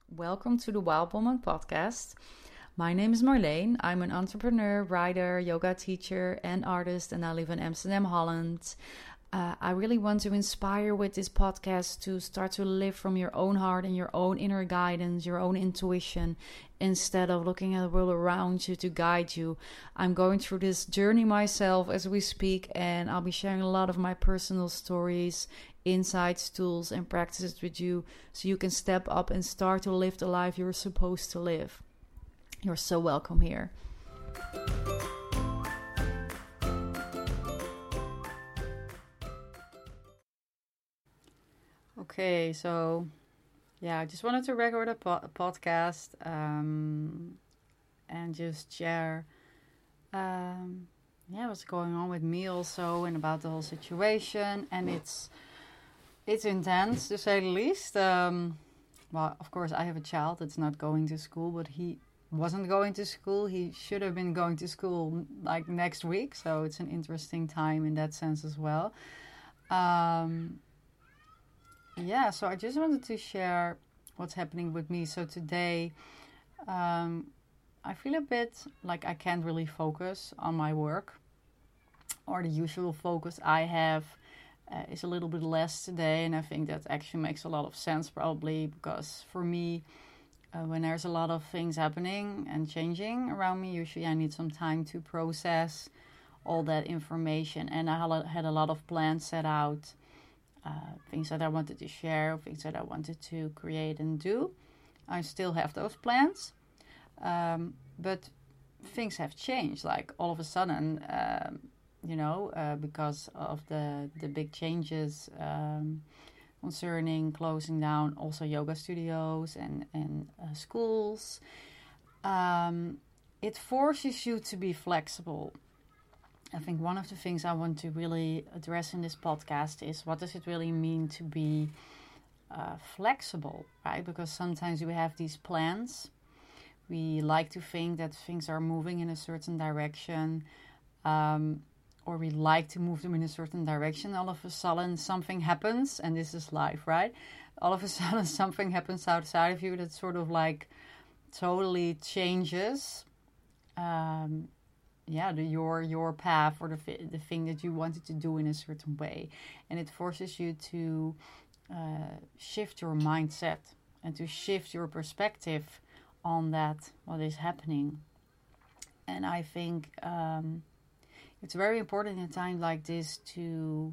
Welcome to the Wild Woman podcast. My name is Marleen. I'm an entrepreneur, writer, yoga teacher, and artist, and I live in Amsterdam, Holland. I really want to inspire with this podcast to start to live from your own heart and your own inner guidance, your own intuition, instead of looking at the world around you to guide you. I'm going through this journey myself as we speak, and I'll be sharing a lot of my personal stories, insights, tools, and practices with you so you can step up and start to live the life you're supposed to live. You're so welcome here. Okay, so I just wanted to record a podcast and just share what's going on with me also and about the whole situation. And it's intense, to say the least. Well, of course, I have a child that's not going to school, but he wasn't going to school. He should have been going to school like next week, so it's an interesting time in that sense as well. So I just wanted to share what's happening with me. So today, I feel a bit like I can't really focus on my work, or the usual focus I have is a little bit less today. And I think that actually makes a lot of sense, probably, because for me, when there's a lot of things happening and changing around me, usually I need some time to process all that information. And I had a lot of plans set out. Things that I wanted to share, things that I wanted to create and do. I still have those plans, but things have changed. Like all of a sudden, because of the big changes concerning closing down also yoga studios and schools. It forces you to be flexible. I think one of the things I want to really address in this podcast is, what does it really mean to be flexible, right? Because sometimes we have these plans. We like to think that things are moving in a certain direction, or we like to move them in a certain direction. All of a sudden something happens, and this is life, right? All of a sudden something happens outside of you that sort of like totally changes your path, or the thing that you wanted to do in a certain way. And it forces you to shift your mindset and to shift your perspective on that, what is happening. And I think it's very important in a time like this to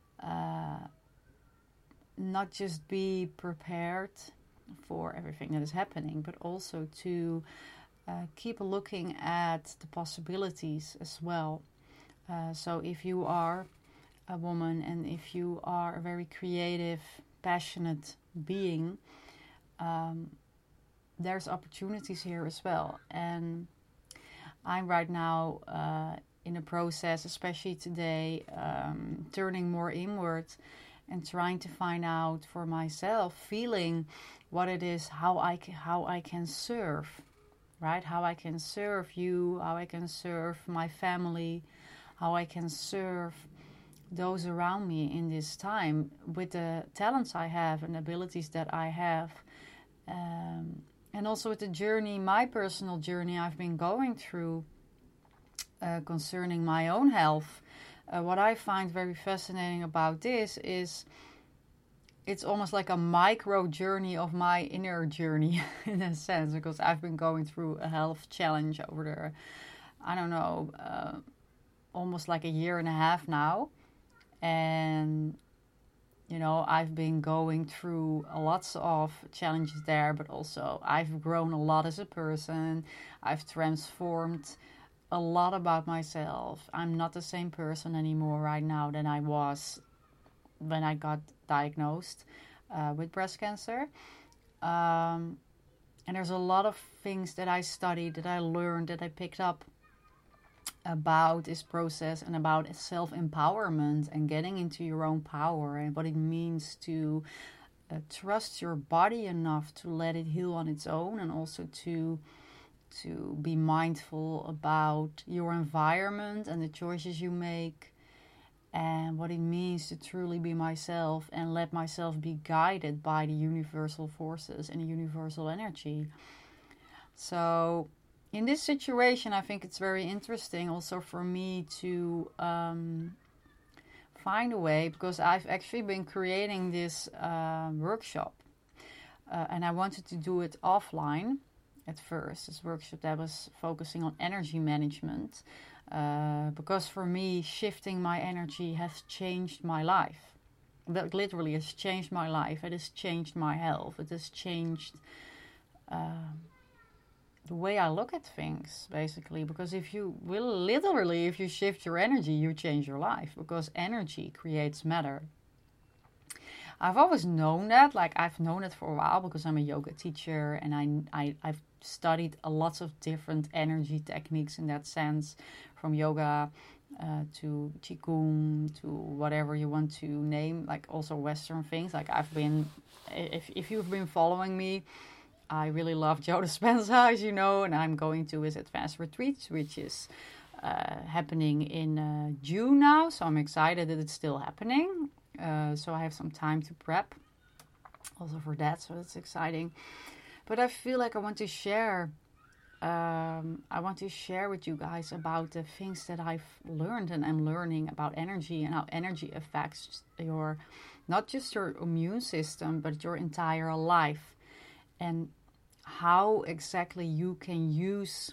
not just be prepared for everything that is happening, but also to keep looking at the possibilities as well. So if you are a woman and if you are a very creative, passionate being, there's opportunities here as well. And I'm right now in a process, especially today, turning more inward and trying to find out for myself, feeling what it is, how I can serve. Right? How I can serve you, how I can serve my family, how I can serve those around me in this time with the talents I have and abilities that I have. And also with the journey, my personal journey I've been going through concerning my own health. What I find very fascinating about this is it's almost like a micro journey of my inner journey in a sense, because I've been going through a health challenge over almost like a year and a half now. And, I've been going through lots of challenges there, but also I've grown a lot as a person. I've transformed a lot about myself. I'm not the same person anymore right now than I was when I got diagnosed with breast cancer. And there's a lot of things that I studied, that I learned, that I picked up about this process and about self-empowerment and getting into your own power and what it means to trust your body enough to let it heal on its own, and also to be mindful about your environment and the choices you make. and what it means to truly be myself and let myself be guided by the universal forces and the universal energy. So in this situation, I think it's very interesting also for me to find a way, because I've actually been creating this workshop, and I wanted to do it offline at first. This workshop that was focusing on energy management, because for me, shifting my energy has changed my life. That literally has changed my life. It has changed my health. It has changed the way I look at things, basically. Because if you shift your energy, you change your life, because energy creates matter. I've always known that, like I've known it for a while, because I'm a yoga teacher, and I've studied a lot of different energy techniques in that sense, from yoga to qigong to whatever you want to name, like also Western things. Like if you've been following me, I really love Joe Dispenza, as you know, and I'm going to his advanced retreats, which is happening in June now. So I'm excited that it's still happening. So I have some time to prep also for that. So it's exciting. But I feel like I want to share with you guys about the things that I've learned and I'm learning about energy, and how energy affects not just your immune system, but your entire life. And how exactly you can use,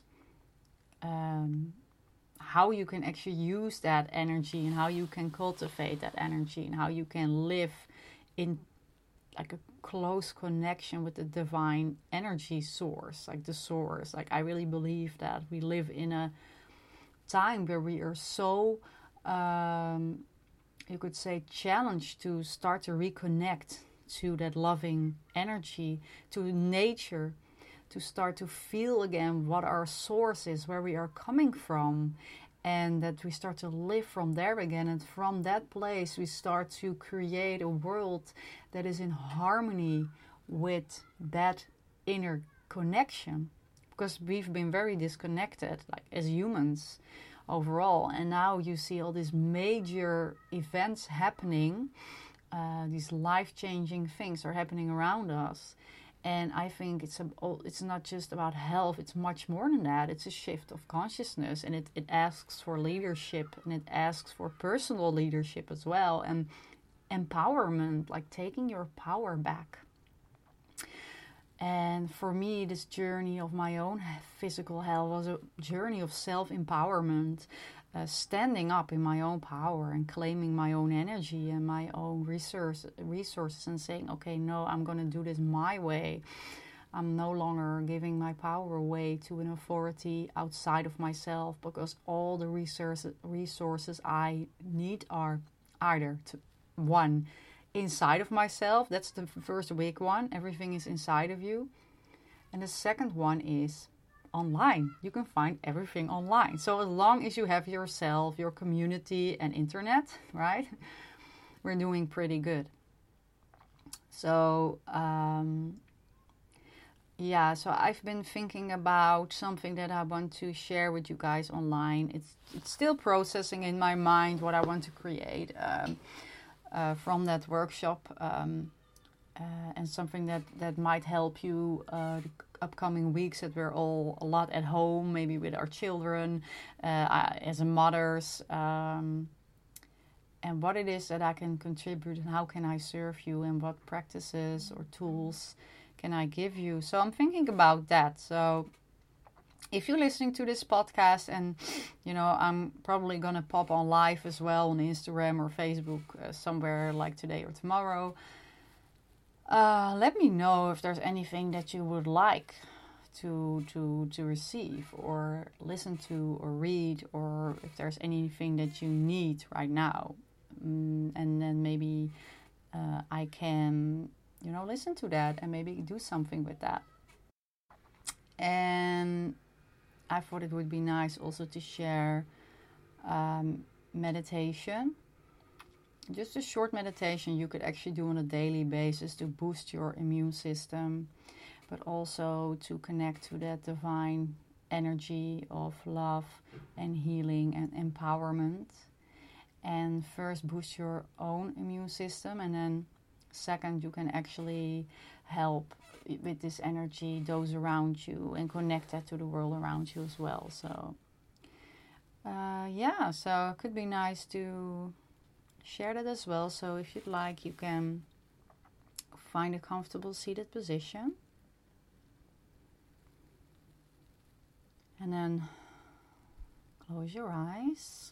how you can actually use that energy, and how you can cultivate that energy, and how you can live in like a close connection with the divine energy source, like the source. Like I really believe that we live in a time where we are so, you could say, challenged to start to reconnect to that loving energy, to nature, to start to feel again what our source is, where we are coming from, and that we start to live from there again. And from that place, we start to create a world that is in harmony with that inner connection, because we've been very disconnected, like as humans overall. And now you see all these major events happening. These life-changing things are happening around us, and I think it's not just about health. It's much more than that. It's a shift of consciousness, and it asks for leadership, and it asks for personal leadership as well, and empowerment, like taking your power back. And for me, this journey of my own physical health was a journey of self-empowerment, standing up in my own power and claiming my own energy and my own resources, and saying, okay, no, I'm going to do this my way. I'm no longer giving my power away to an authority outside of myself, because all the resources I need are either one, inside of myself. That's the first big one. Everything is inside of you. And the second one is online. You can find everything online. So as long as you have yourself, your community, and internet, right, we're doing pretty good. So so I've been thinking about something that I want to share with you guys online. It's still processing in my mind what I want to create from that workshop, and something that might help you the upcoming weeks, that we're all a lot at home, maybe with our children, as mothers, and what it is that I can contribute, and how can I serve you, and what practices or tools can I give you. So I'm thinking about that. So if you're listening to this podcast, and I'm probably gonna pop on live as well on Instagram or Facebook somewhere like today or tomorrow, let me know if there's anything that you would like to receive or listen to or read, or if there's anything that you need right now, and then maybe I can listen to that and maybe do something with that. And I thought it would be nice also to share meditation. Just a short meditation you could actually do on a daily basis to boost your immune system, but also to connect to that divine energy of love and healing and empowerment. and first boost your own immune system, and then second, you can actually help with this energy those around you and connect that to the world around you as well. So so it could be nice to share that as well. So if you'd like, you can find a comfortable seated position, and then close your eyes.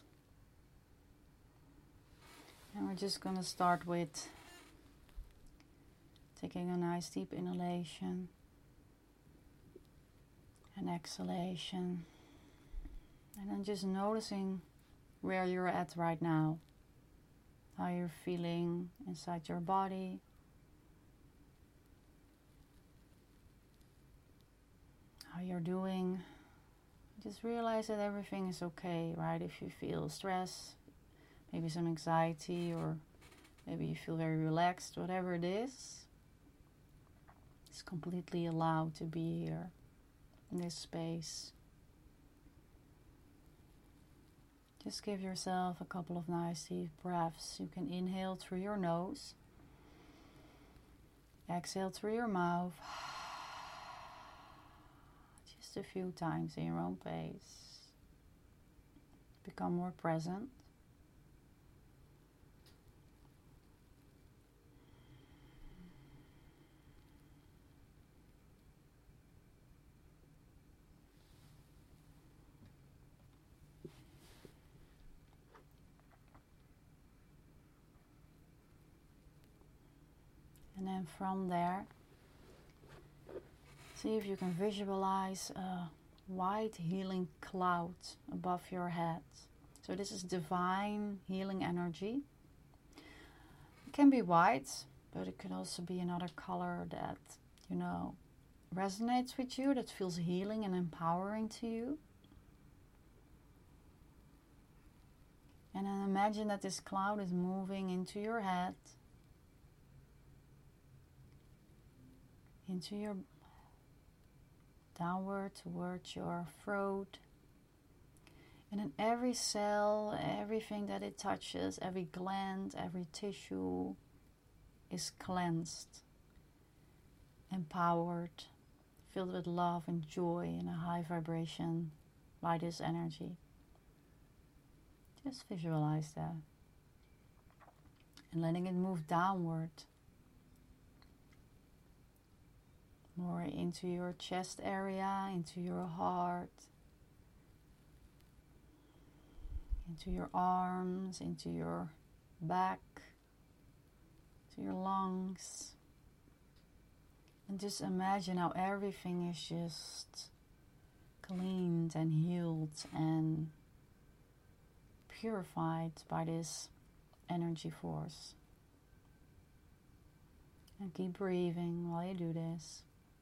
And we're just going to start with taking a nice deep inhalation and exhalation. And then just noticing where you're at right now. How you're feeling inside your body. How you're doing. Just realize that everything is okay, right? If you feel stress, maybe some anxiety, or maybe you feel very relaxed, whatever it is, it's completely allowed to be here in this space. Just give yourself a couple of nice deep breaths. You can inhale through your nose, exhale through your mouth, just a few times in your own pace. Become more present. And then from there, see if you can visualize a white healing cloud above your head. So this is divine healing energy. It can be white, but it can also be another color that, resonates with you, that feels healing and empowering to you. And then imagine that this cloud is moving into your head, into your downward towards your throat, and then every cell, everything that it touches, every gland, every tissue is cleansed, empowered, filled with love and joy and a high vibration by this energy. Just visualize that and letting it move downward, more into your chest area, into your heart, into your arms, into your back, to your lungs. And just imagine how everything is just cleaned and healed and purified by this energy force. And keep breathing while you do this.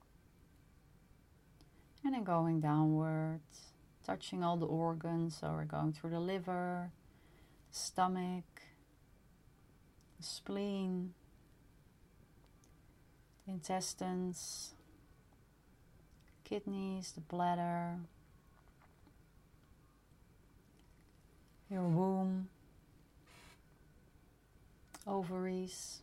And then going downwards, touching all the organs. So we're going through the liver, the stomach, the spleen, the intestines, kidneys, the bladder, your womb, ovaries.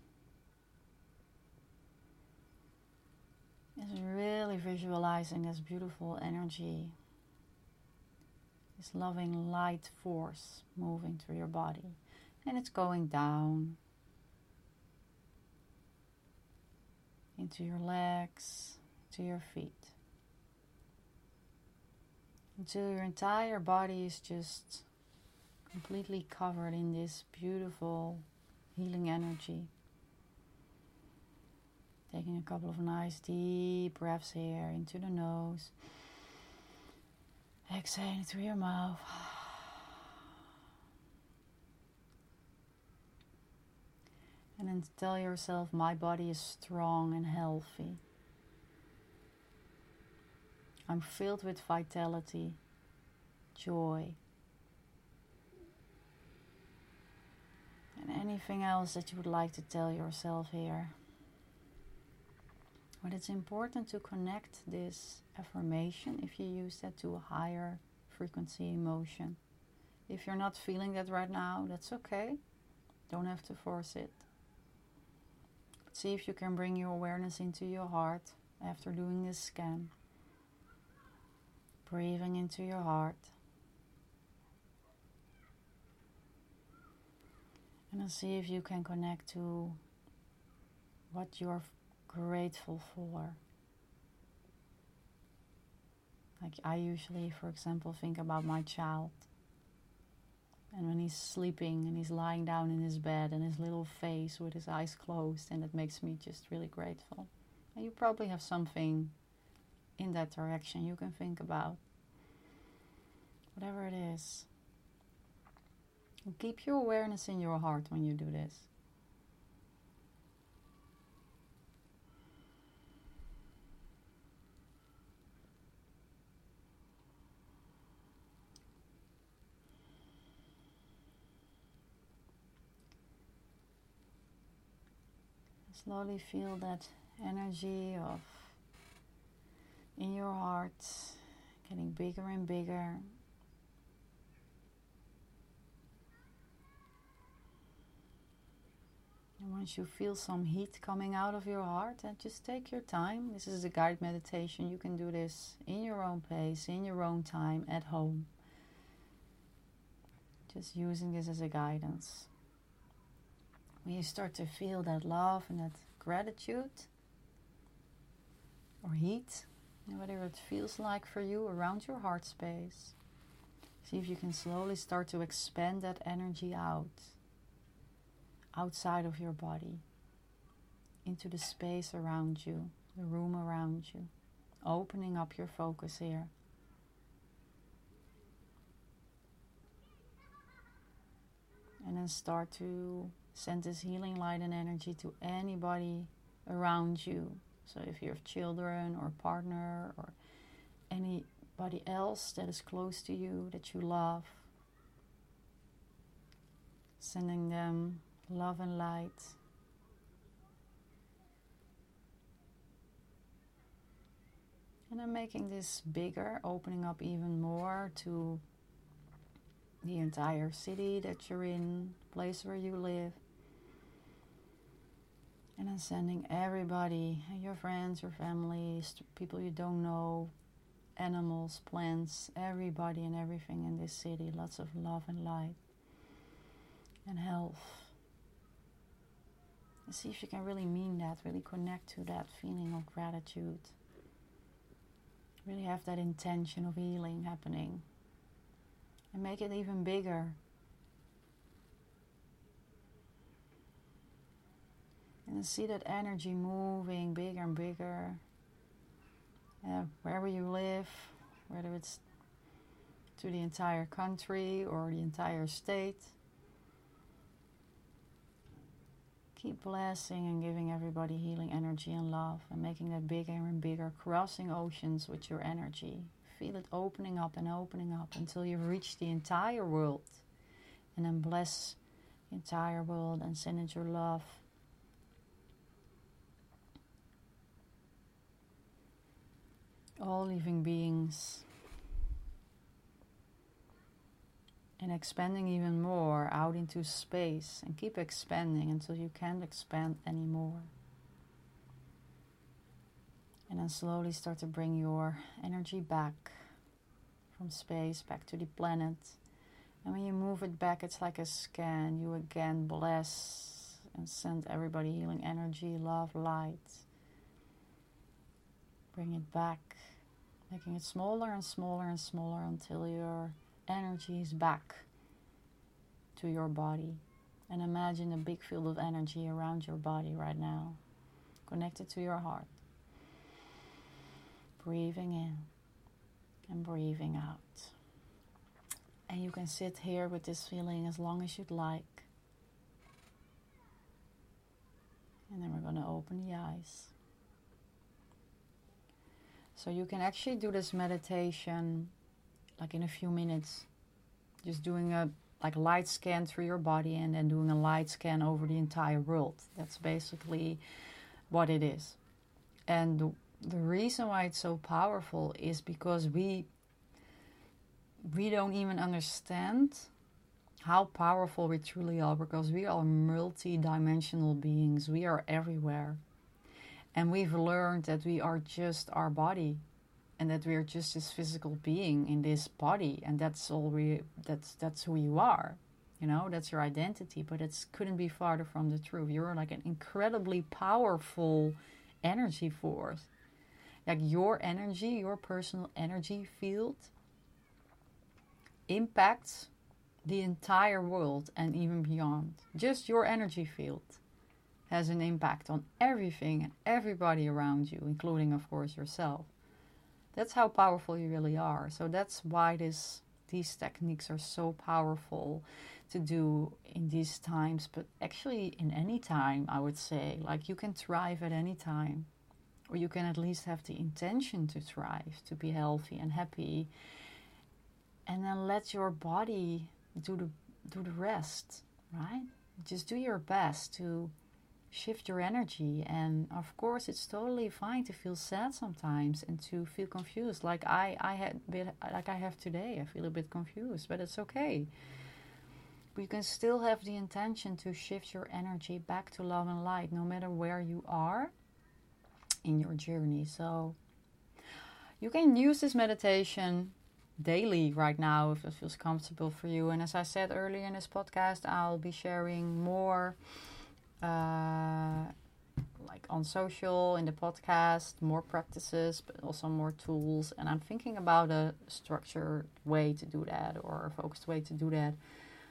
Is really visualizing this beautiful energy, this loving light force moving through your body. And it's going down into your legs, to your feet, until your entire body is just completely covered in this beautiful healing energy. Taking a couple of nice deep breaths here into the nose. Exhaling through your mouth. And then tell yourself, my body is strong and healthy. I'm filled with vitality, joy, and anything else that you would like to tell yourself here. But it's important to connect this affirmation, if you use that, to a higher frequency emotion. If you're not feeling that right now, that's okay. Don't have to force it. See if you can bring your awareness into your heart after doing this scan. Breathing into your heart. And then see if you can connect to what you're grateful for. Like I usually, for example, think about my child. And when he's sleeping and he's lying down in his bed and his little face with his eyes closed, and it makes me just really grateful. And you probably have something in that direction you can think about. Whatever it is. And keep your awareness in your heart when you do this. Slowly feel that energy of in your heart getting bigger and bigger. And once you feel some heat coming out of your heart, then just take your time. This is a guided meditation. You can do this in your own pace, in your own time, at home. Just using this as a guidance. When you start to feel that love and that gratitude or heat, whatever it feels like for you around your heart space, see if you can slowly start to expand that energy outside of your body, into the space around you, the room around you, opening up your focus here. And then start to send this healing light and energy to anybody around you. So if you have children or a partner or anybody else that is close to you that you love, sending them love and light. And then making this bigger, opening up even more to the entire city that you're in, place where you live. And then sending everybody, your friends, your families, people you don't know, animals, plants, everybody and everything in this city. Lots of love and light and health. And see if you can really mean that, really connect to that feeling of gratitude. Really have that intention of healing happening. And make it even bigger. And see that energy moving bigger and bigger. Wherever you live, whether it's to the entire country or the entire state. Keep blessing and giving everybody healing energy and love. And making that bigger and bigger. Crossing oceans with your energy. Feel it opening up until you've reached the entire world. And then bless the entire world and send it your love. All living beings. And expanding even more out into space. And keep expanding until you can't expand anymore. And then slowly start to bring your energy back from space, back to the planet. And when you move it back, it's like a scan. You again bless and send everybody healing energy, love, light. Bring it back, making it smaller and smaller and smaller until your energy is back to your body. And imagine a big field of energy around your body right now, connected to your heart. Breathing in and breathing out. And you can sit here with this feeling as long as you'd like. And then we're going to open the eyes. So you can actually do this meditation like in a few minutes. Just doing a light scan through your body and then doing a light scan over the entire world. That's basically what it is. And the reason why it's so powerful is because we don't even understand how powerful we truly are, because we are multi-dimensional beings. We are everywhere. And we've learned that we are just our body, and that we are just this physical being in this body, and that's all that's who you are. You know, that's your identity, but it couldn't be farther from the truth. You're like an incredibly powerful energy force. Like your energy, your personal energy field impacts the entire world and even beyond. Just your energy field has an impact on everything and everybody around you, including, of course, yourself. That's how powerful you really are. So that's why these techniques are so powerful to do in these times, but actually in any time, I would say. Like, you can thrive at any time, or you can at least have the intention to thrive, to be healthy and happy, and then let your body do the rest, right? Just do your best to shift your energy. And of course, it's totally fine to feel sad sometimes and to feel confused, like I have today. I feel a bit confused, but it's okay. But you can still have the intention to shift your energy back to love and light, no matter where you are in your journey. So you can use this meditation daily right now if it feels comfortable for you. And as I said earlier in this podcast, I'll be sharing more like on social, in the podcast, more practices, but also more tools. And I'm thinking about a structured way to do that, or a focused way to do that.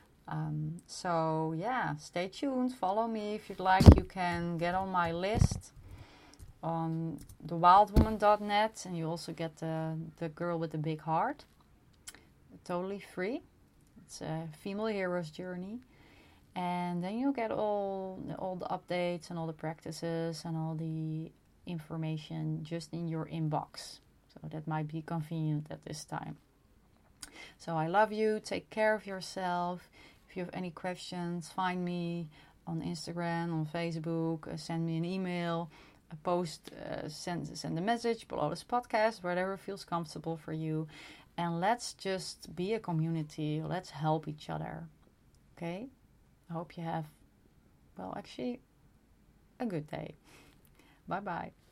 So yeah, stay tuned, follow me if you'd like. You can get on my list on thewildwoman.net, and you also get the girl with the big heart, totally free. It's a female hero's journey. And then you'll get all the updates and all the practices and all the information just in your inbox. So that might be convenient at this time. So I love you. Take care of yourself. If you have any questions, find me on Instagram, on Facebook. Send me an email. A post, send a message below this podcast, whatever feels comfortable for you. And let's just be a community. Let's help each other. Okay? I hope you have, well, actually, a good day. Bye-bye.